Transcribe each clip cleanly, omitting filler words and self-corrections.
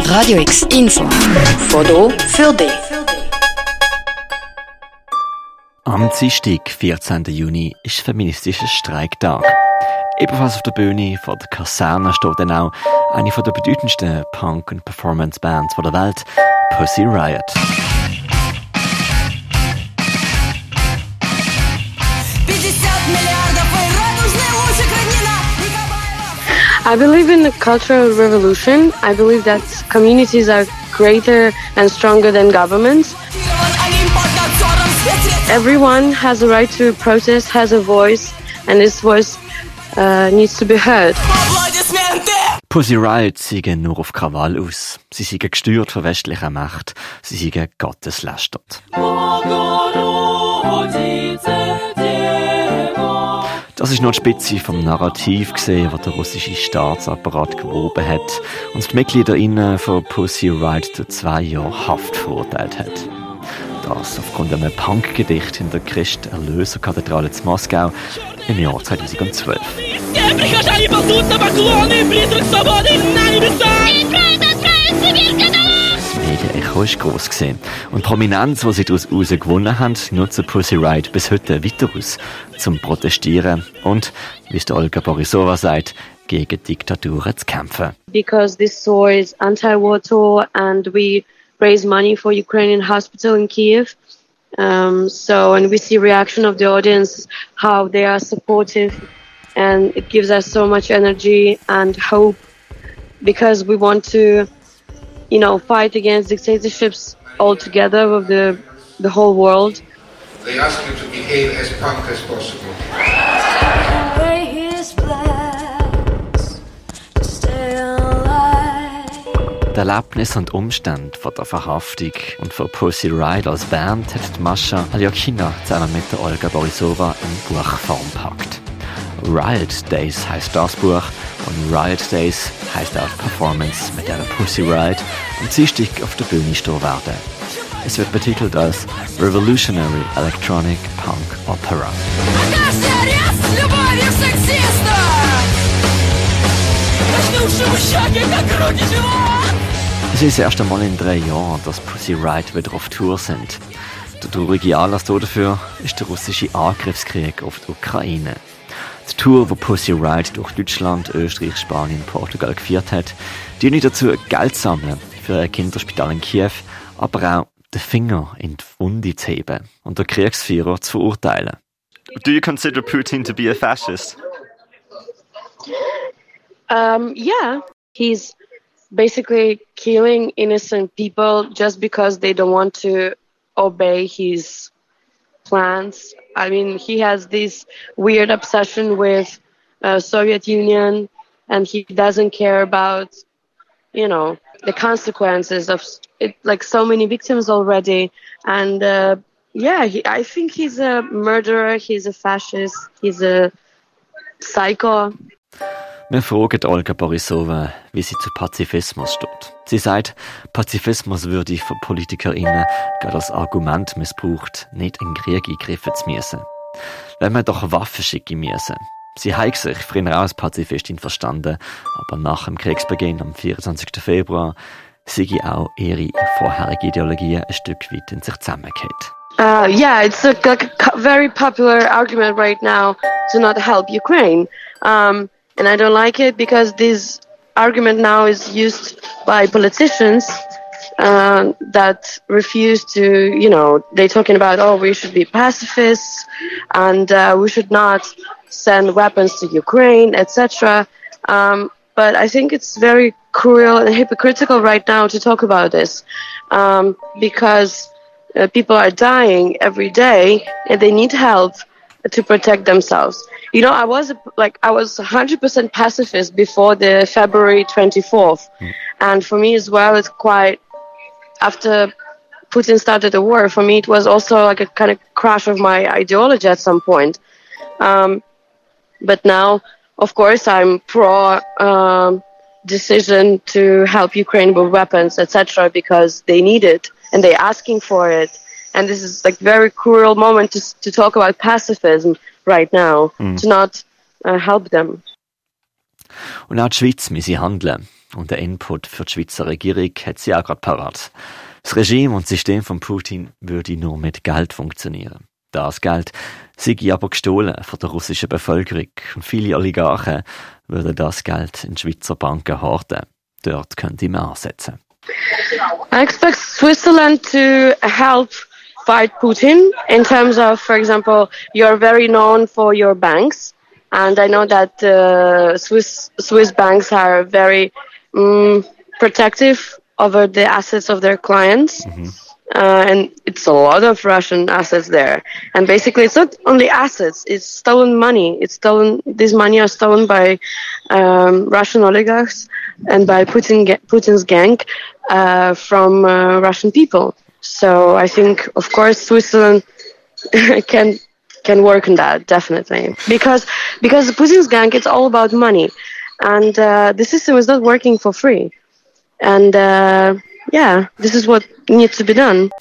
Radio X Info. Foto für dich. Am Dienstag, 14. Juni, ist feministischer Streiktag. Ebenfalls auf der Bühne vor der Kaserne steht dann auch eine der bedeutendsten Punk- und Performance-Bands der Welt, Pussy Riot. I believe in the cultural revolution. I believe that communities are greater and stronger than governments. Everyone has a right to protest, has a voice, and this voice needs to be heard. Pussy Riot seien nur auf Krawall aus. Sie seien gesteuert von westlicher Macht. Sie seien gotteslästert. Das ist nur die Spitze vom Narrativ gesehen, das der russische Staatsapparat gewoben hat und die MitgliederInnen von Pussy Riot zu 2 Jahren Haft verurteilt hat. Das aufgrund einem Punk-Gedicht in der Christ-Erlöser-Kathedrale zu Moskau im Jahr 2012. Das Medienecho war gross gewesen. Und die Prominenz, die sie daraus gewonnen haben, nutzen Pussy Riot bis heute weiter aus, zum Protestieren und, wie es Olga Borisova sagt, gegen Diktaturen zu kämpfen. Because this tour is anti-war tour and we raise money for Ukrainian hospital in Kiev. And we see reaction of the audience, how they are supportive, and it gives us so much energy and hope because we want to, fight against dictatorships all together with the whole world. They ask you to behave as punk as possible. Die Erlebnisse und Umstände von der Verhaftung und von Pussy Riot als Band hat die Mascha Alyokina zusammen mit der Olga Borisova in Buchform gepackt. Riot Days heisst das Buch und Riot Days heisst auch die Performance, mit der Pussy Riot am Dienstag auf der Bühne stehen werden. Es wird betitelt als Revolutionary Electronic Punk Opera. Es ist das erste Mal in 3 Jahren, dass Pussy Riot wieder auf Tour sind. Der traurige Anlass dafür ist der russische Angriffskrieg auf die Ukraine. Die Tour, die Pussy Riot durch Deutschland, Österreich, Spanien und Portugal geführt hat, dient dazu, Geld zu sammeln für ein Kinderspital in Kiew, aber auch den Finger in die Wunde zu heben und den Kriegsführer zu verurteilen. Do you consider Putin to be a fascist? Yeah, he's basically killing innocent people just because they don't want to obey his plans. I mean, he has this weird obsession with Soviet Union, and he doesn't care about, the consequences of it. Like so many victims already, and I think he's a murderer. He's a fascist. He's a psycho. Wir fragen Olga Borisova, wie sie zu Pazifismus steht. Sie sagt, Pazifismus würde von PolitikerInnen gerade als Argument missbraucht, nicht in den Krieg eingreifen zu müssen. Wenn man doch Waffen schicken müssen. Sie hat sich früher auch als Pazifistin verstanden, aber nach dem Kriegsbeginn am 24. Februar sei auch ihre vorherige Ideologie ein Stück weit in sich zusammengekehrt. It's a very popular argument right now to not help Ukraine. And I don't like it because this argument now is used by politicians that refuse to, they're talking about, we should be pacifists and we should not send weapons to Ukraine, etc. But I think it's very cruel and hypocritical right now to talk about this because people are dying every day and they need help to protect themselves. I was 100% pacifist before the February 24th. And for me as well, it's quite, after Putin started the war, for me it was also like a kind of crash of my ideology at some point. But now, of course, I'm pro decision to help Ukraine with weapons, etc., because they need it and they're asking for it. And this is like very cruel moment to talk about pacifism right now, to not help them. Und auch die Schweiz müsse handeln. Und der Input für die Schweizer Regierung hat sie auch gerade parat. Das Regime und das System von Putin würde nur mit Geld funktionieren. Das Geld sei aber gestohlen von der russischen Bevölkerung und viele Oligarchen würden das Geld in Schweizer Banken horten. Dort könnte man ansetzen. I expect Switzerland to help fight Putin in terms of, for example, you're very known for your banks, and I know that Swiss banks are very protective over the assets of their clients. And it's a lot of Russian assets there. And basically, it's not only assets; it's stolen money. These money are stolen by Russian oligarchs and by Putin's gang from Russian people. So I think, of course, Switzerland can work on that definitely because Putin's gang, it's all about money, and the system is not working for free. And this is what needs to be done.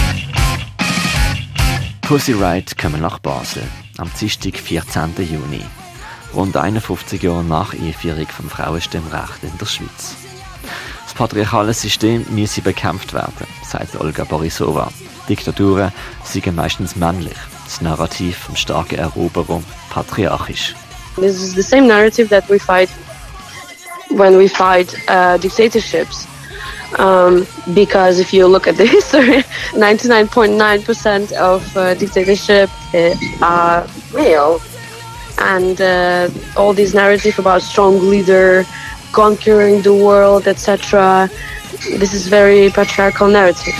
Pussy Riot kommen nach Basel am Dienstag, 14. Juni. Rund 51 Jahre nach Einführung vom Frauenstimmrecht in der Schweiz. Das patriarchale System müsse bekämpft werden, sagt Olga Borisova. Diktaturen seien meistens männlich, das Narrativ vom starken Eroberer patriarchisch. This is the same narrative that we fight when we fight dictatorships. Because if you look at the history, 99.9% of dictatorship are male. And all these narrative about strong leader, conquering the world, etc. This is very patriarchal narrative.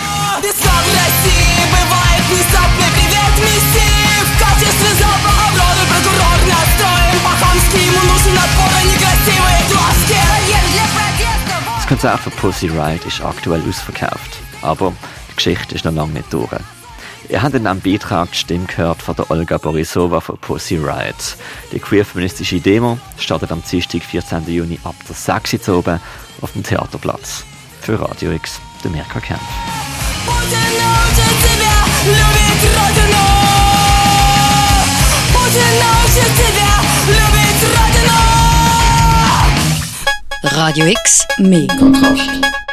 Das Konzert von Pussy Riot ist aktuell ausverkauft, aber die Geschichte ist noch lange nicht durch. Ihr habt in einem Beitrag die Stimme gehört von der Olga Borisova von Pussy Riot. Die queer-feministische Demo startet am Dienstag, 14. Juni ab der 6 Uhr oben auf dem Theaterplatz. Für Radio X, der Mirka Kempf. Radio X, mehr Kontrast.